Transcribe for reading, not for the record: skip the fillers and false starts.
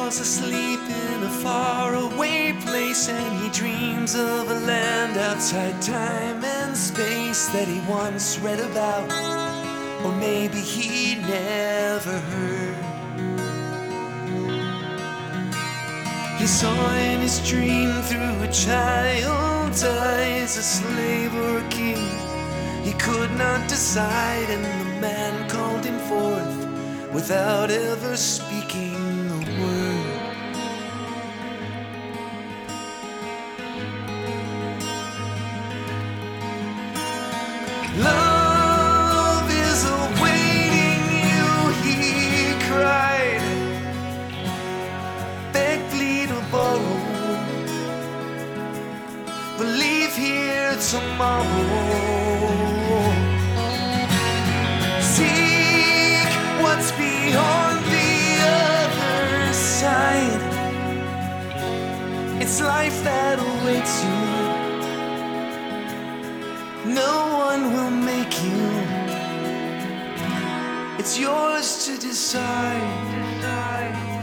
falls asleep in a faraway place, and he dreams of a land outside time and space that he once read about, or maybe he never heard. He saw in his dream through a child's eyes a slave or a king. He could not decide, and the man called him forth without ever speaking a word. Love is awaiting you, he cried. Beg, plead, or borrow, but leave here tomorrow. Seek what's beyond the other side. It's life that awaits you. No one will make you. It's yours to decide.